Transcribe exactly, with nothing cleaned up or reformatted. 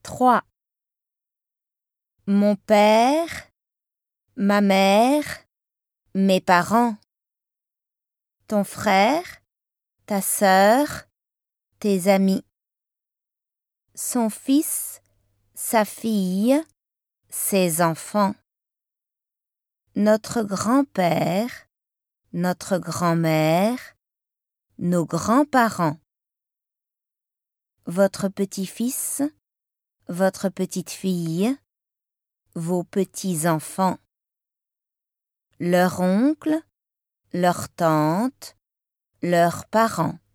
trois. Mon père, ma mère, mes parents. Ton frère, ta sœur, tes amis. Son fils, sa fille, ses enfants. Notre grand-père, notre grand-mère, nos grands-parents. Votre petit-fils, votre petite-fille, vos petits-enfants. Leur oncle, leur tante, leurs parents.